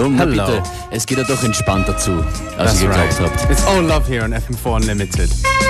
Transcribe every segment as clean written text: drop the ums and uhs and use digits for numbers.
Hallo, na Hello. bitte. Es geht ja doch entspannter zu, als ihr geglaubt habt. It's all love here on FM4 Unlimited.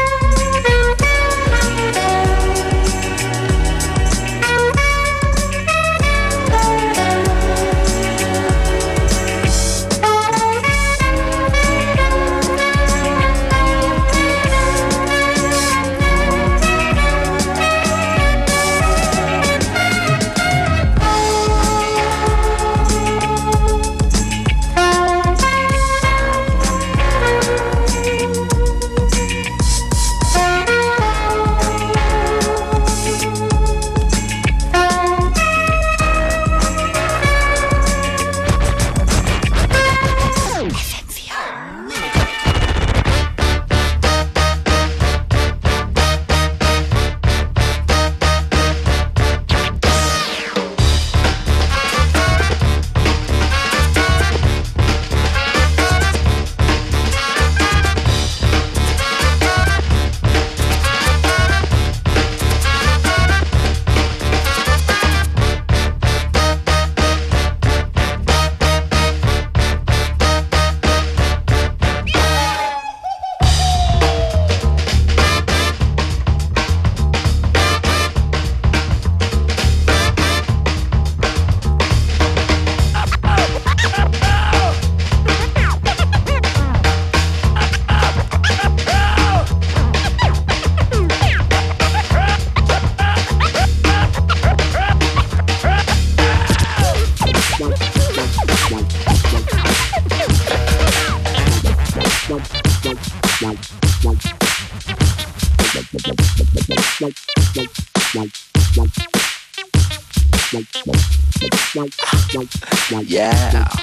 Yeah.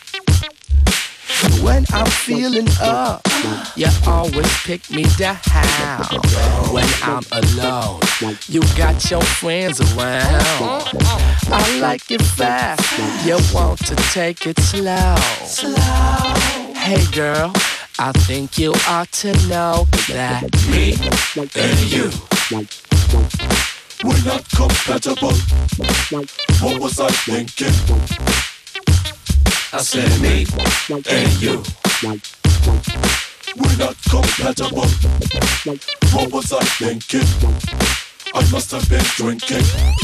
When I'm feeling up, you always pick me down. When I'm alone, you got your friends around. I like it fast, you want to take it slow. Hey girl, I think you ought to know that me and you, we're not compatible. What was I thinking? I said me and you, we're not compatible. What was I thinking? I must have been drinking.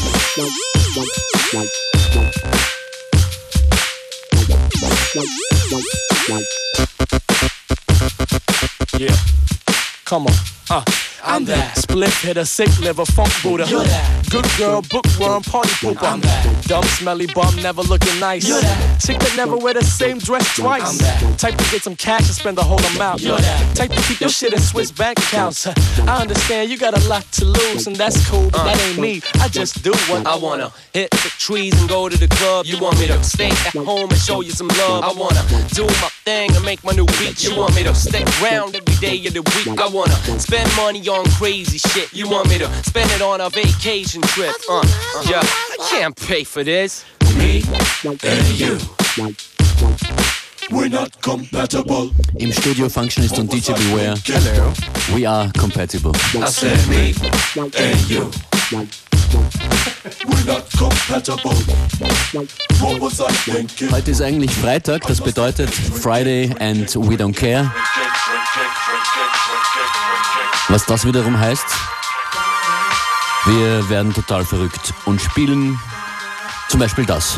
Yeah, come on, I'm that split hitter, sick liver, funk Buddha. You're that good girl, bookworm, party pooper. I'm that dumb, smelly bum, never looking nice. You're that chick that never wear the same dress twice. I'm that type to get some cash and spend the whole amount. You're that type to keep your shit in Swiss bank accounts. I understand you got a lot to lose, and that's cool, but that ain't me. I just do what I wanna. Hit the trees and go to the club. You want me to stay at home and show you some love. I wanna do my thing and make my new beat. You want me to stay around every day of the week. I wanna spend money on crazy shit. You want me to spend it on a vacation trip. Yeah, I can't pay for this. Me and you, we're not compatible. Im Studio Functionist und DJ Beware. Hello. We are compatible. I said me and you, we're not compatible. What was I thinking? Heute ist eigentlich Freitag, das bedeutet Friday and we don't care. Was das wiederum heißt, wir werden total verrückt und spielen zum Beispiel das.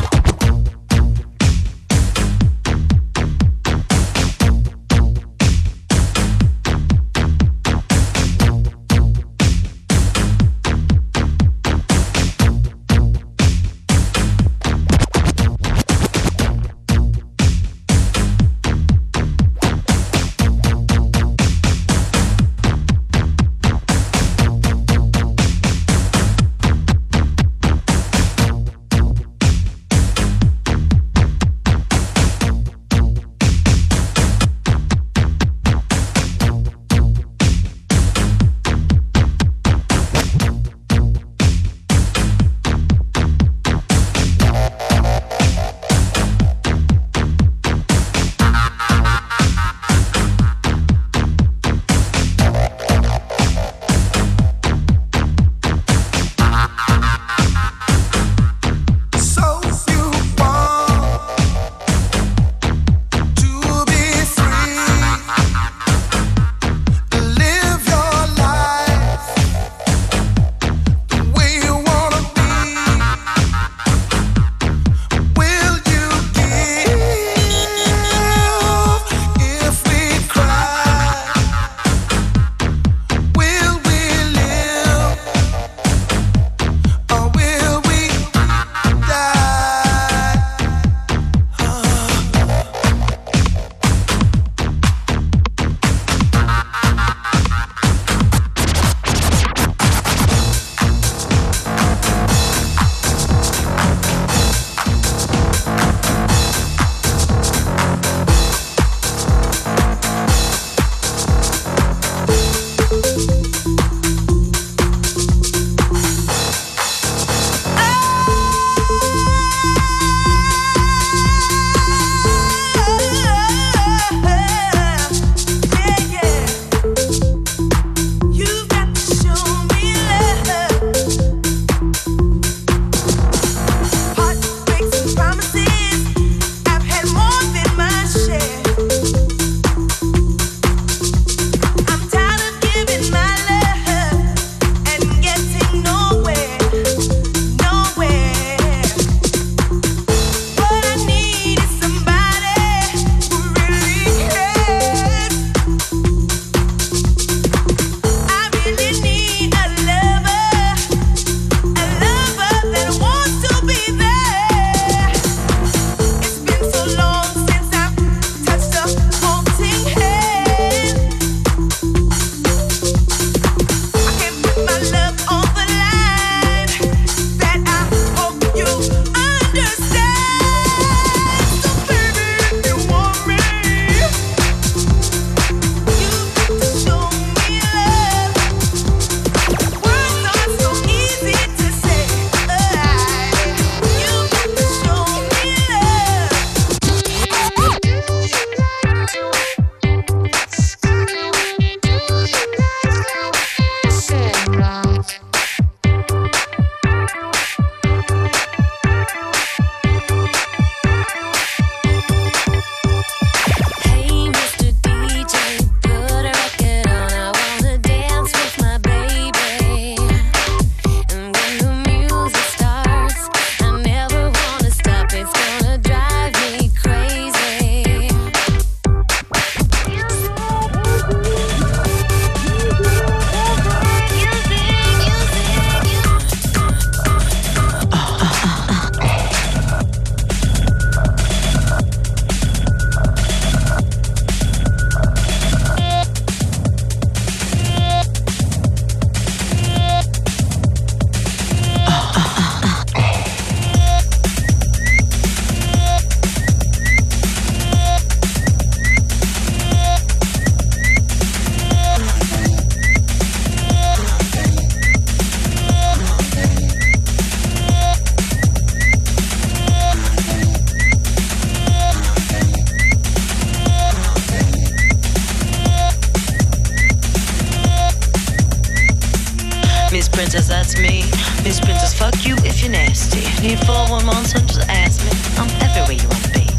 Princess, that's me. Miss Princess, fuck you if you're nasty. Need 411, so just ask me. I'm everywhere you want to be.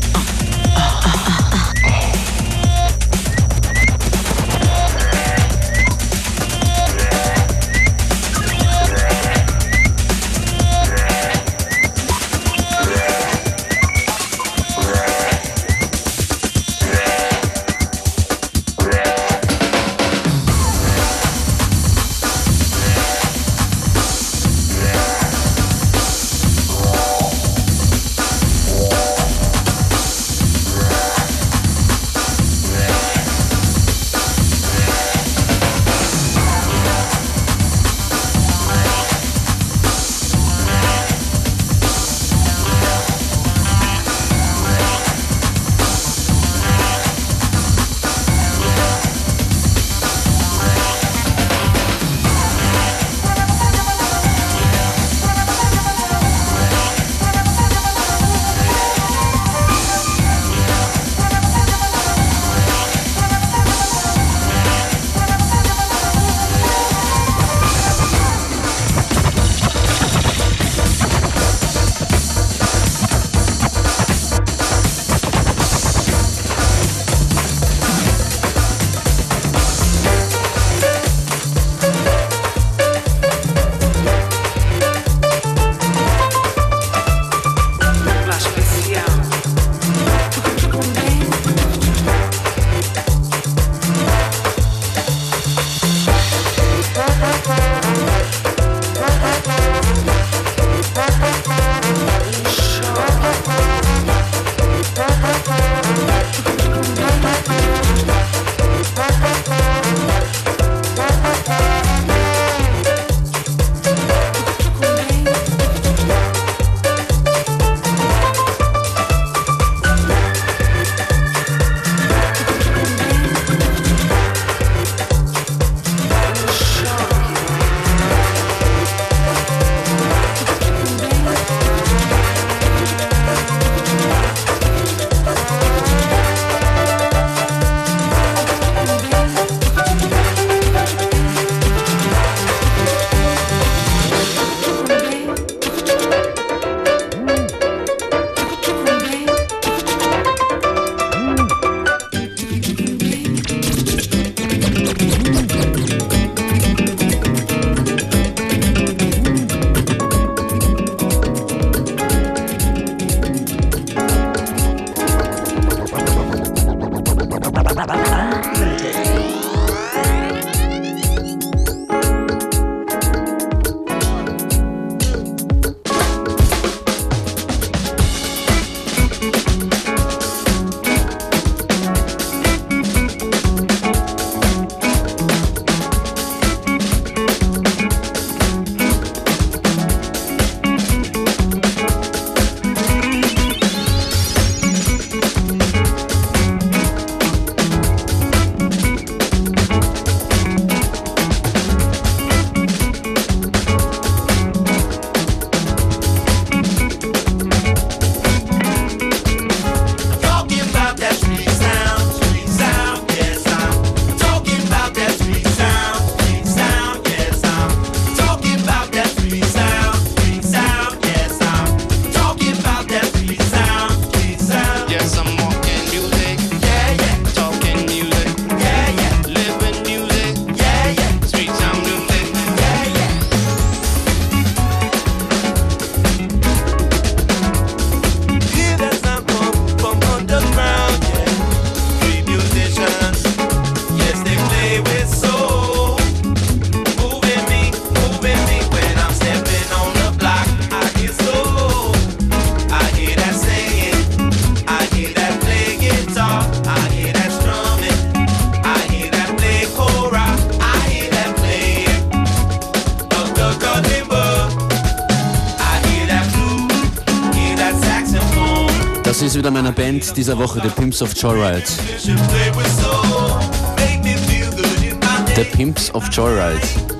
Das ist wieder meine Band dieser Woche, The Pimps of Joyride. The Pimps of Joyride.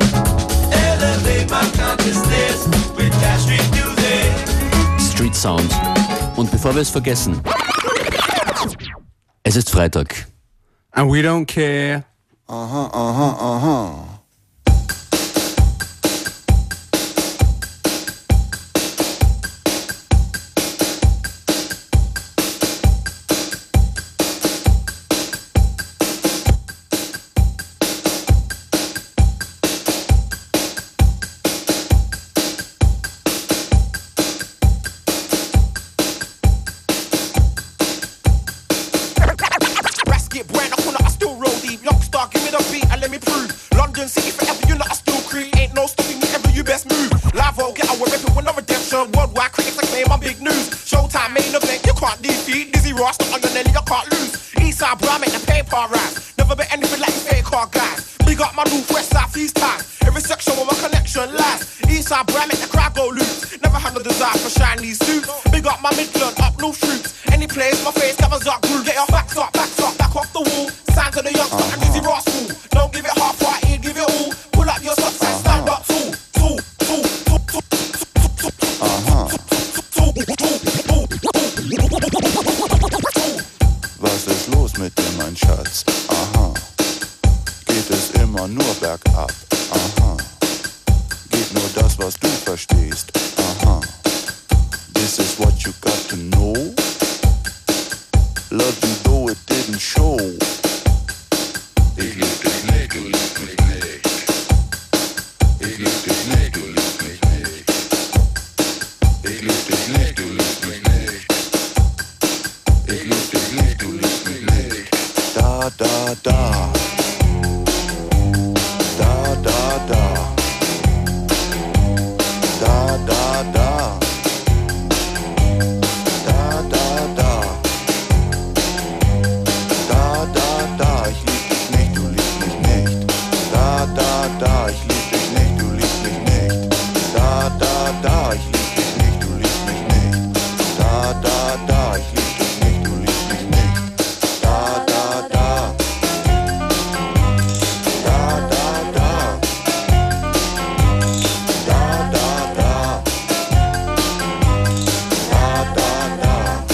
Street Sound. Und bevor wir es vergessen, es ist Freitag. And we don't care. get brand, I corner, I still roll deep. Youngstar, give me the beat and let me prove. London City forever, you know I still creep. Ain't no stopping me ever, you best move. Live out, get out, we're repping with no redemption. Worldwide critics acclaim, I'm big news. Showtime, main event, you can't defeat. Dizzy Ross, not on your Nelly, you can't lose. Eastside, bro, I make the paper rise. Never bet anything like you fake car guys. Big up my north, west, south, east time. Every section where my connection lies. Eastside, bro, I make the crowd go loose. Never had no desire for shiny suits. Big up my Midland, up north troops. Any place, my face covers up groove. Get your backs up, back off the wall. Sign to the youngster and Dizzy Ross fool. Don't give it half-hearted, give it all. Pull up your socks and stand up tall. Was ist los mit dir, mein Schatz? Aha. Geht es immer nur bergab? Aha. Geht nur das, was du verstehst? Aha. This is what you got to know. Love you though it didn't show. Ich lieb dich nicht, du liebst mich nicht. Ich lieb dich nicht, du liebst mich nicht. Ich lieb dich nicht, du liebst mich nicht. Ich lieb dich nicht, du liebst mich nicht. Da, da, da. Da, da, da. Da, da, da. Da, da, da. Da, da, da. Ich lieb dich nicht, du liebst mich nicht. Da, da, da. Ich lieb dich nicht, du liebst mich nicht. Da, da, da. Ich lieb dich nicht, du liebst mich nicht. Da, da, da. Ich lieb dich nicht, du liebst mich nicht. Da, da, da. Da, da, da. Da, da, da. Da, da, da.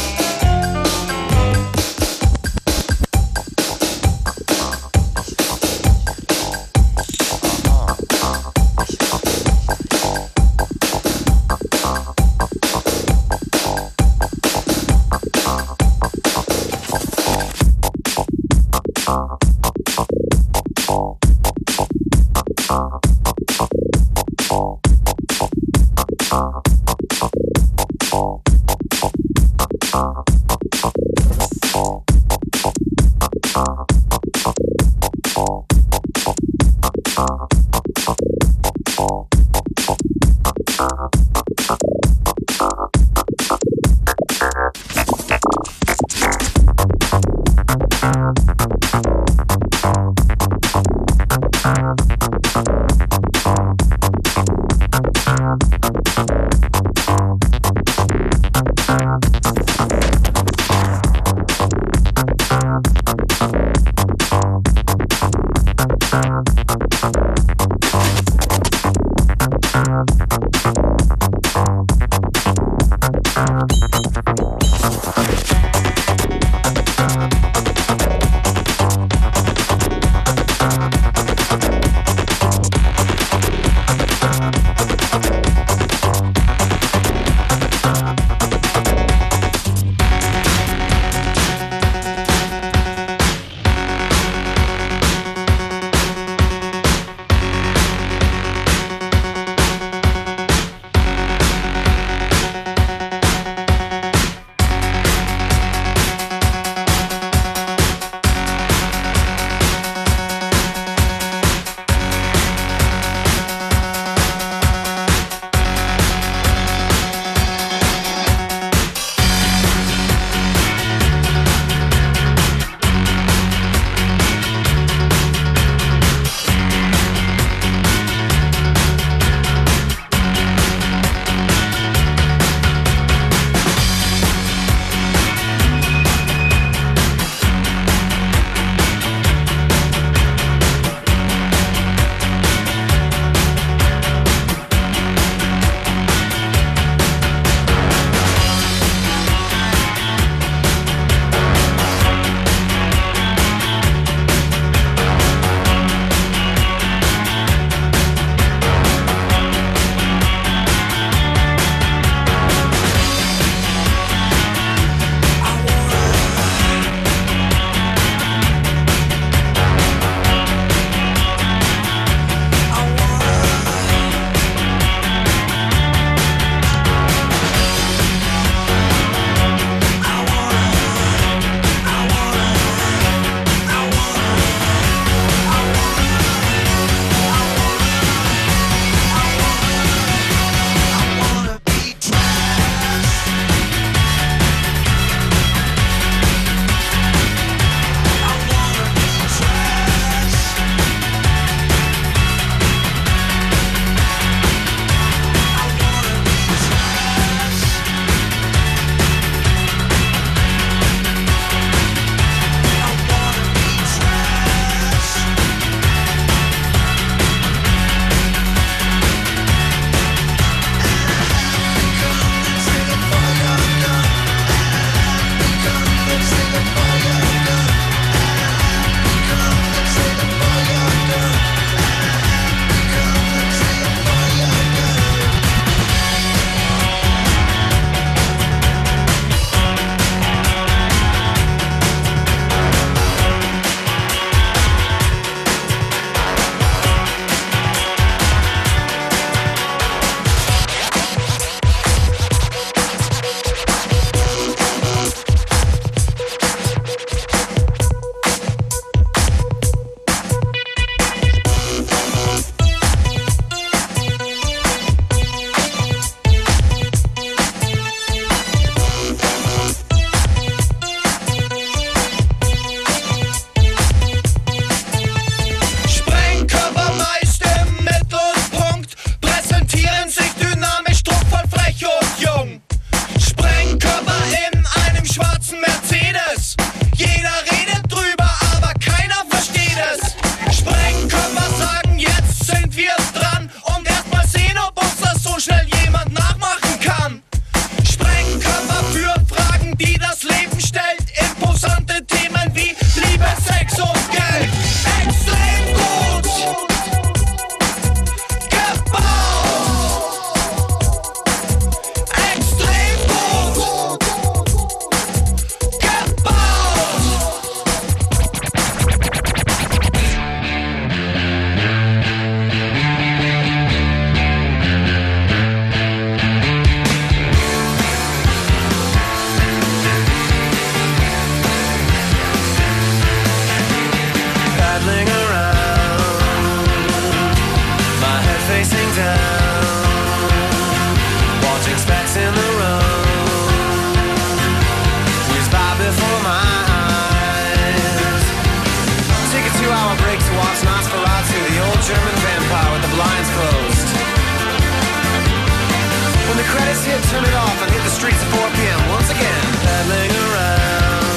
turn it off and hit the streets at 4 p.m. once again. Paddling around,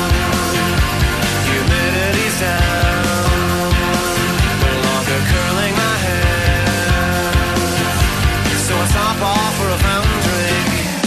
humidity's down, no longer curling my hair, so I stop off for a fountain drink.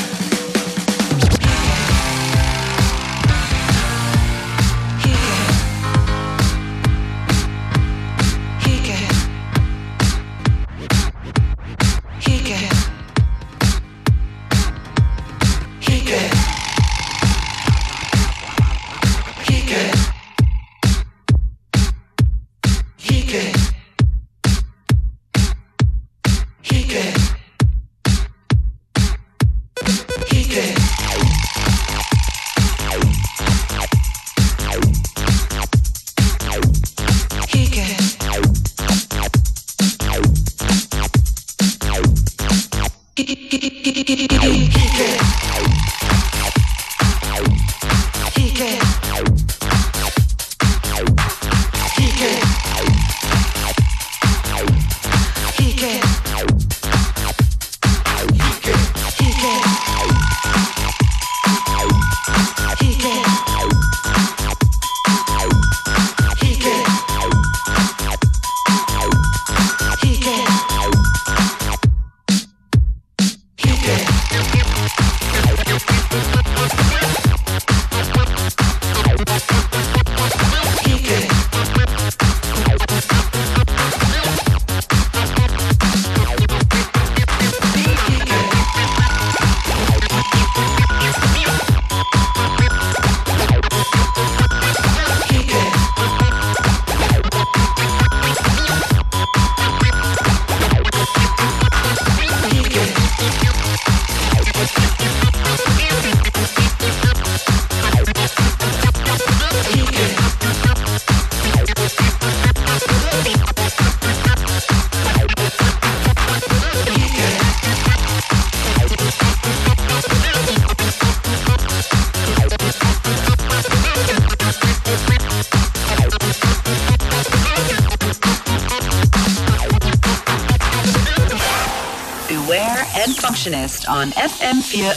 On FM4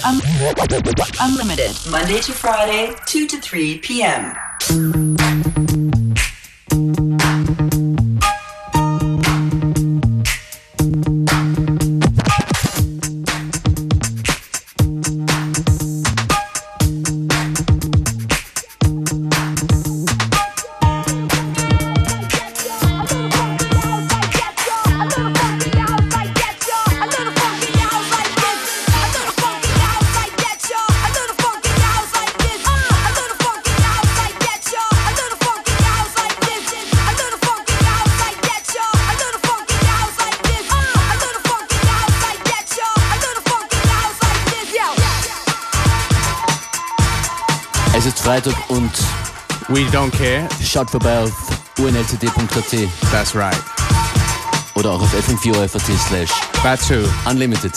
Unlimited, Monday to Friday, 2 to 3 p.m. Es ist Freitag und we don't care. Schaut vorbei auf unlcd.at. That's right. Oder auch auf fm4.at/. That too. Unlimited.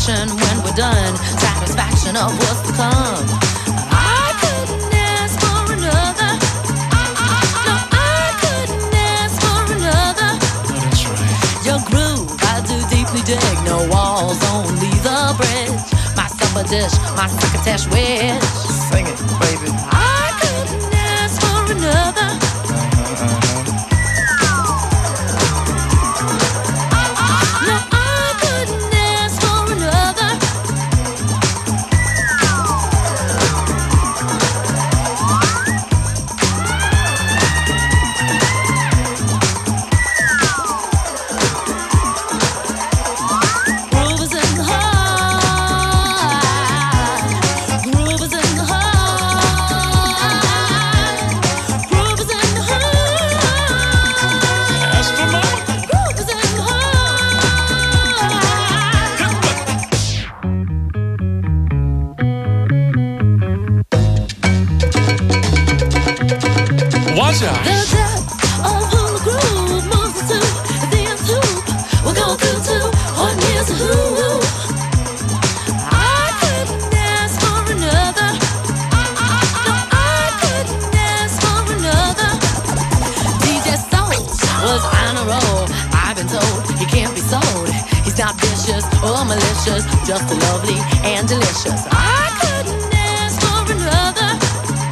satisfaction when we're done, satisfaction of what's to come. I couldn't ask for another. No, I couldn't ask for another. That's right. Your groove, I do deeply dig. No walls, only the bridge. My supper dish, my crocketesh wish. Sing it, baby. I couldn't ask for another. No, I couldn't ask for another. Groove is in the heart. Groove is in the heart. Groove is in the heart. That's for mama. Groove is in the heart. Watch out. The depth of who the groove moves to the nth hoop. We'll go through to what is a who. I couldn't ask for another. No, I couldn't ask for another. DJ Soul was on a roll. I've been told he can't be sold. He's not vicious or malicious, just lovely and delicious. I couldn't ask for another.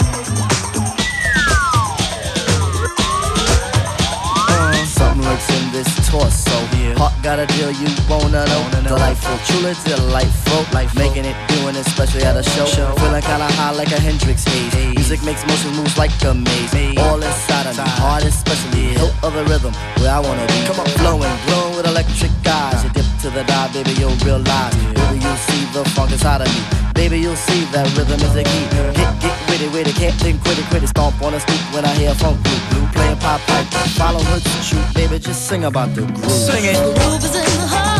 Something lurks in this torso. Heart got a deal you wanna know. Delightful, truly delightful. Making it, doing it, especially at a show. Feeling kinda high like a Hendrix haze. Music makes motion moves like a maze. All inside of me, heart especially. Hilt of the rhythm, where I wanna be. Come on, flowing, glowing with electric eyes. You dip to the dive, baby, you'll realize. Baby, you'll see the funk inside of me. Baby, you'll see that rhythm is the key. Get with it, can't think, quit it. Stomp on the street when I hear funk group. Playing pop pipe, follow hoods and shoot. Baby, just sing about the groove. Sing it. Groove is in the heart.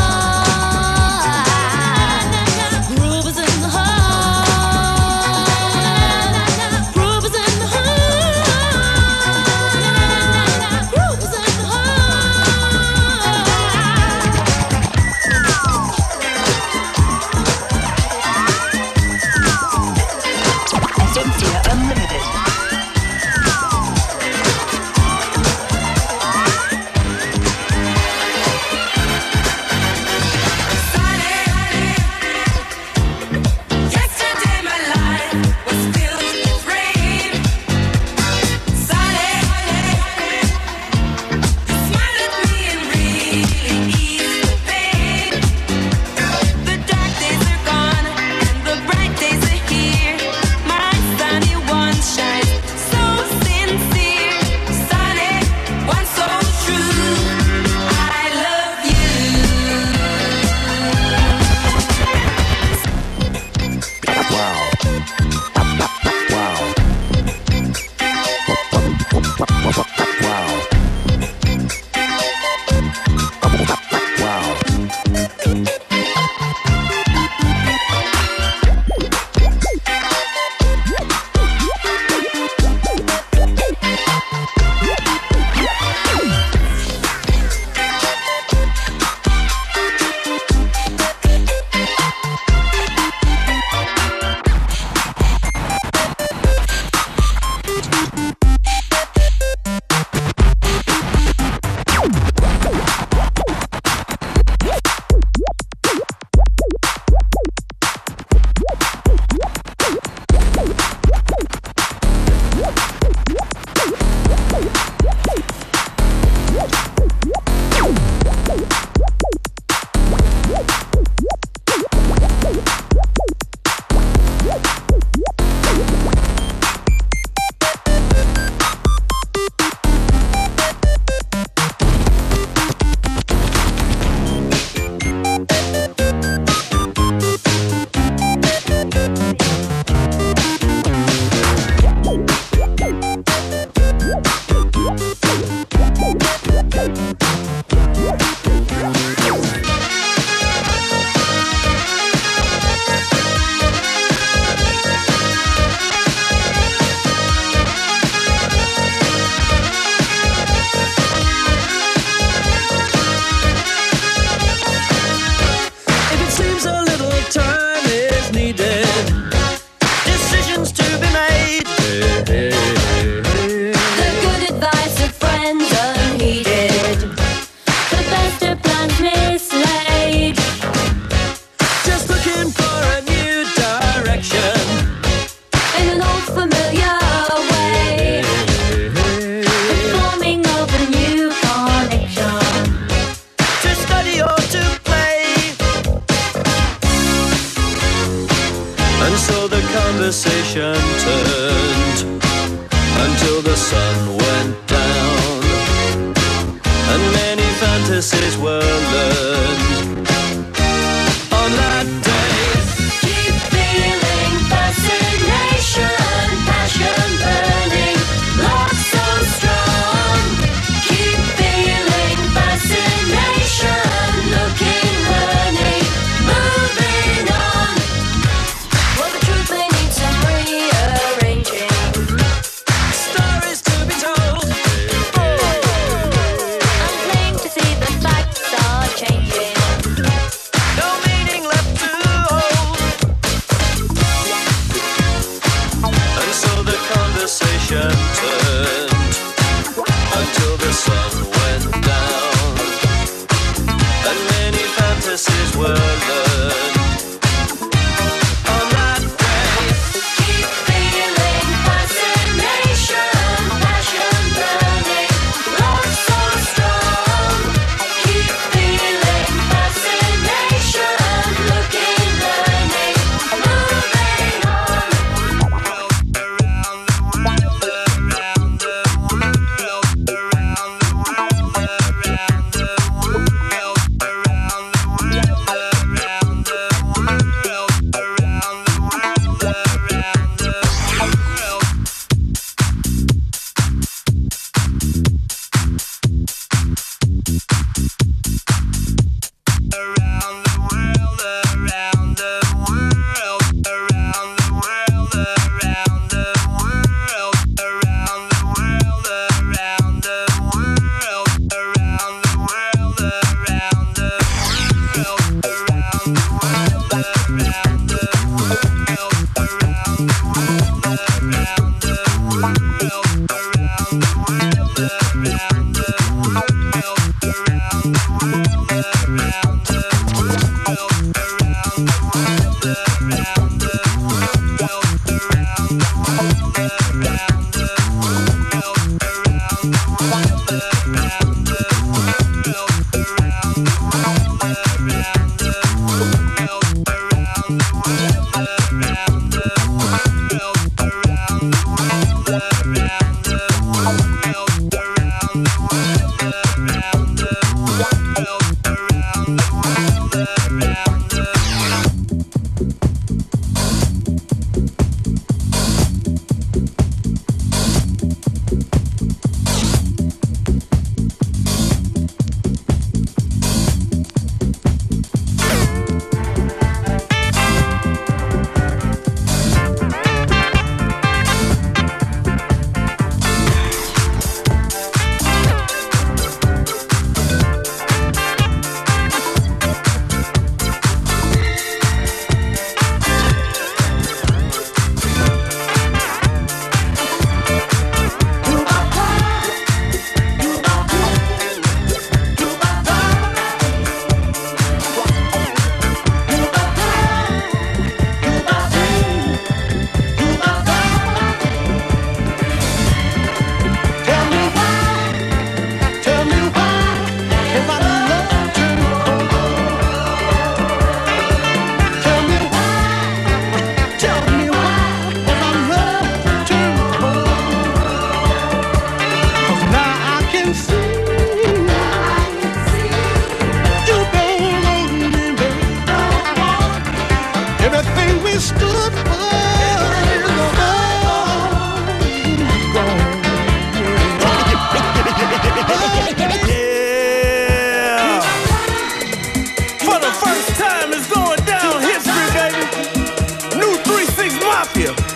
Groove is in the heart. Groove is in the heart. Groove is in the heart. Cynthia Unlimited. went down, and many fantasies were learned on that day. Keep feeling fascination, passion burning, love so strong. Keep feeling fascination, looking, learning, moving on. Well, the truth may need some rearranging. Stories to be told. I'm plain to see the facts are changing. No meaning left to hold. And so the conversation turned until the sun went down, and many fantasies were learned on that day. Keep feeling fascination, passion burning, love so strong. Keep feeling fascination, looking, learning, moving on.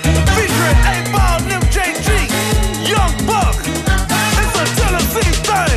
Featuring 8 Ball and MJG, Young Buck. It's a Tennessee thing.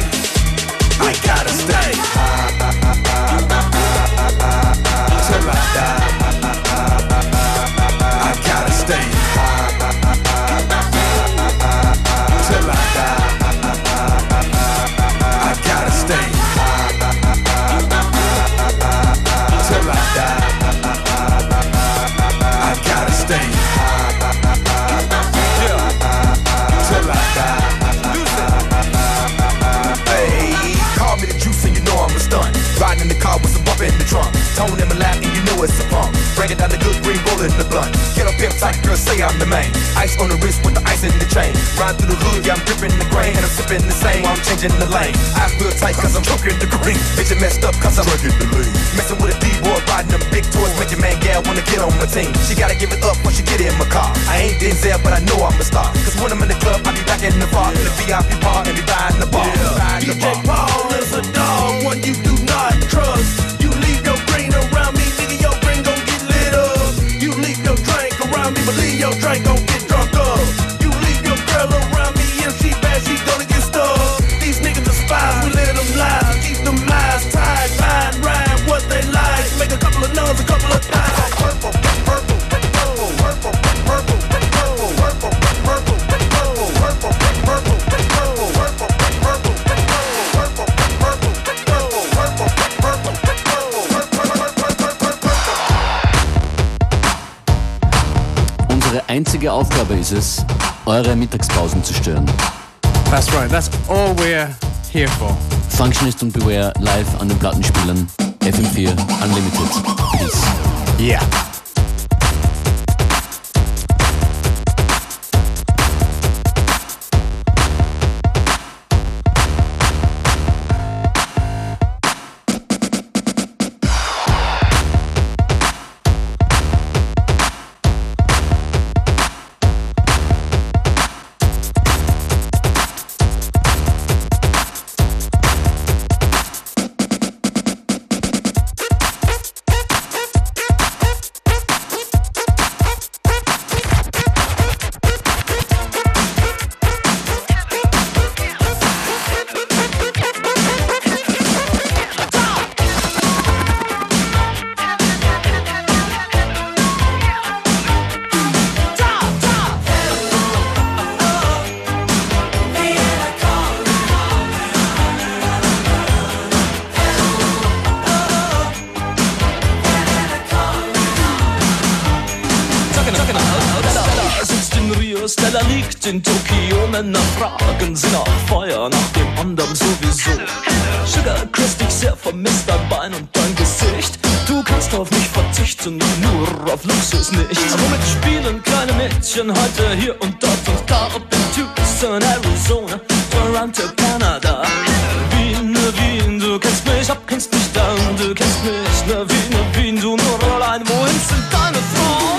yeah, I'm the main. Ice on the wrist with the ice in the chain. Ride through the hood, yeah, I'm gripping the grain. And I'm sipping the same while I'm changing the lane. I feel tight cause I'm choking the green. Bitch, messed up cause I'm drinking the lean. Messing with a D-boy, riding them big toys. Make your man gal wanna get on my team. She gotta give it up when she get in my car. I ain't Denzel, but I know I'm a star. Cause when I'm in the club, I be back in the bar. In the VIP bar and be riding the bar. DJ Paul is a dog, one you do not trust. You leave your green around me, nigga, your green gon' get lit up. You leave your drink around me, believe your drink gon' get drunk up. You leave your girl around me, if she bad, she gonna get stuck. These niggas are spies, we let them lie. Keep them eyes tied, fine, rhyme what they like. Make a couple of nuns, a couple of thighs. Purple, purple, purple, purple, purple, purple, purple, purple, purple, purple, purple, purple, purple, Unsere einzige Aufgabe ist es, eure Mittagspausen zu stören. That's right, that's all we're here for. Functionist und Beware live an den Plattenspielern. FM4 Unlimited. Peace. Yeah. Stella liegt in Tokio, Männer fragen sie nach Feuer, nach dem anderen sowieso. Sugar küsst dich sehr, vermisst dein Bein und dein Gesicht. Du kannst auf mich verzichten, nur auf Luxus nicht. Womit spielen kleine Mädchen heute hier und dort und da? Ob in Tucson, Arizona, Toronto, Kanada. Wien, Wien, du kennst mich, kennst mich dann, du kennst mich, Wien, Wien, du nur allein, wohin sind deine Frauen?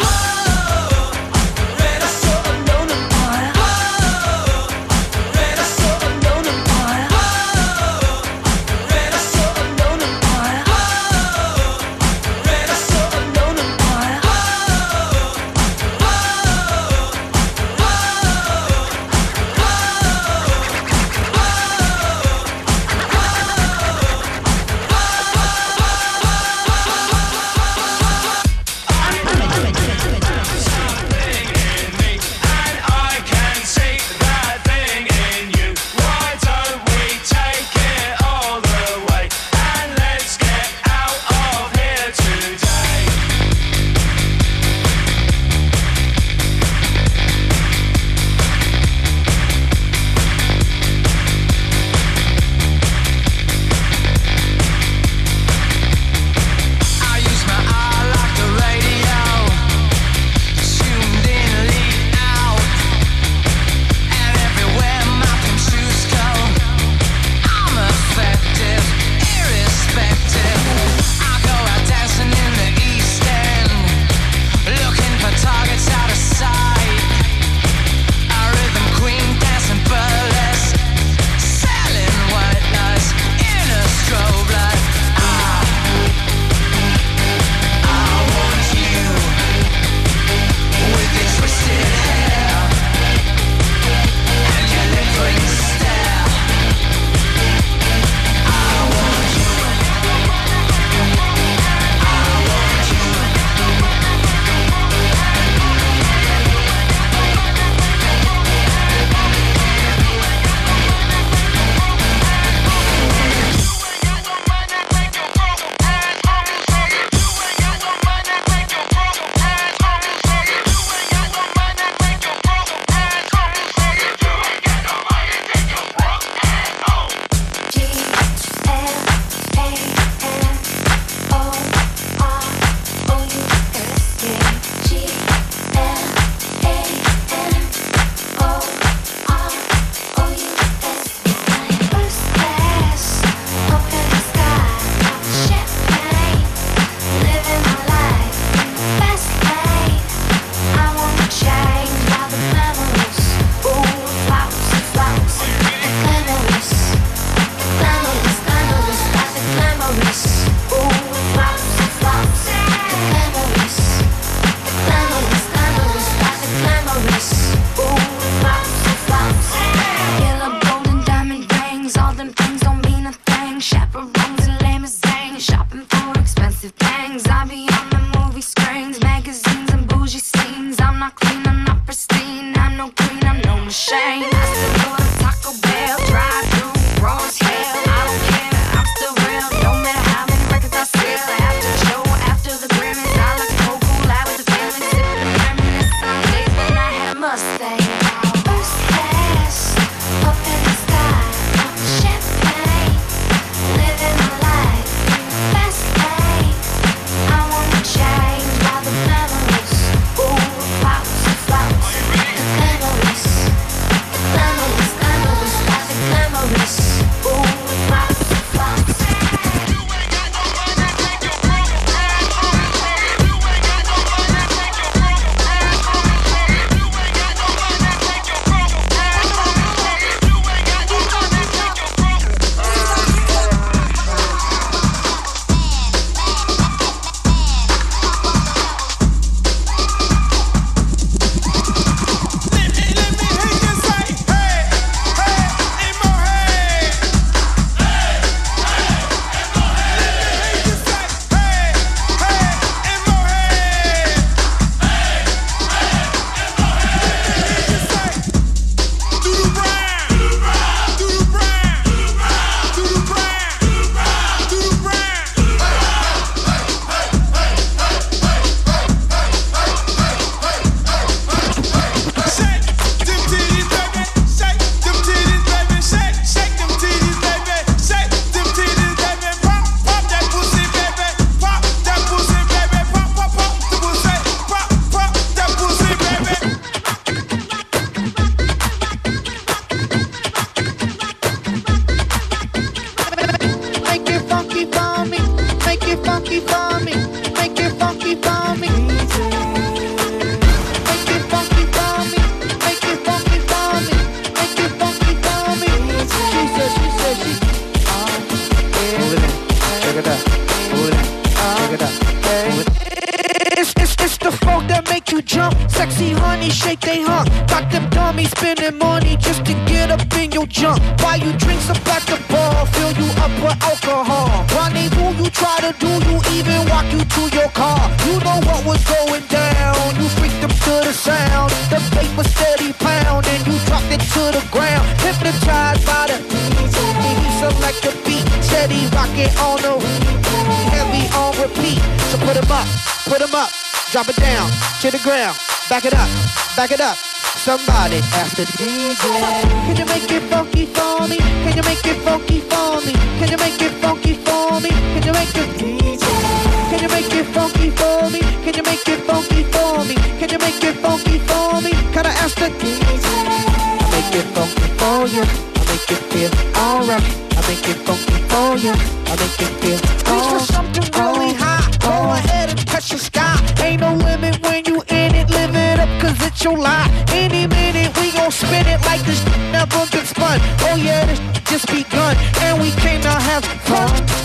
Sexy honey, shake they hump. Got them dummies spending money just to get up in your junk. Buy you drinks up at the bar, fill you up with alcohol. Rendezvous, you try to do, you even walk you to your car. You know what was going down, you freaked them to the sound. The paper steady pound and you dropped it to the ground. Hypnotized by the DJ, he select the beat. Steady rocking on the heavy on repeat. So put 'em up, drop it down to the ground. Back it up. Somebody ask the DJ, can you make it funky for me? Can you make it funky for me? Can you make it funky for me? Can you make it DJ? Can you make it funky for me? Can you make it funky for me? Can you make it funky for me? Can I ask the DJ? I make it funky for you. I make it feel alright. I make it funky for you. I make it feel alright. Reach for something really high. Go ahead and touch the sky. Ain't no limit when you in it. Live it up 'cause it's your life. Any minute we gon' spin it like this never been spun. Oh yeah, this just begun and we came to have fun.